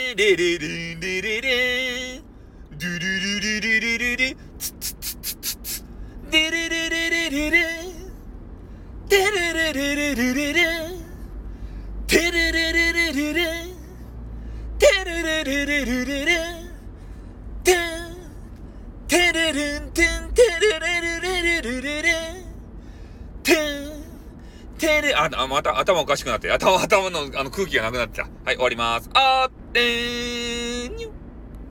レレレンレレレンドゥルルルルルルルツツツツツツデレレレレレレンデレレレレレレレンテレレレレレレンテレレレレレレレンテンテレレンテンテレレレレレレレレンテンテレまた頭おかしくなって頭の空気がなくなってた。はい、終わります。あーってー